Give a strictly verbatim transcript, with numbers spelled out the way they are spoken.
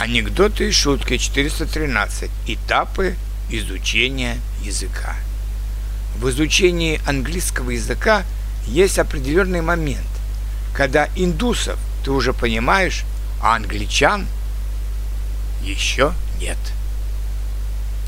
Анекдоты и шутки четыреста тринадцать. Этапы изучения языка. В изучении английского языка есть определенный момент, когда индусов ты уже понимаешь, а англичан еще нет.